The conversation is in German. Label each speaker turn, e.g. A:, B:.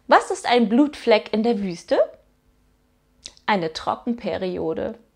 A: Was ist ein Blutfleck in der Wüste? Eine Trockenperiode.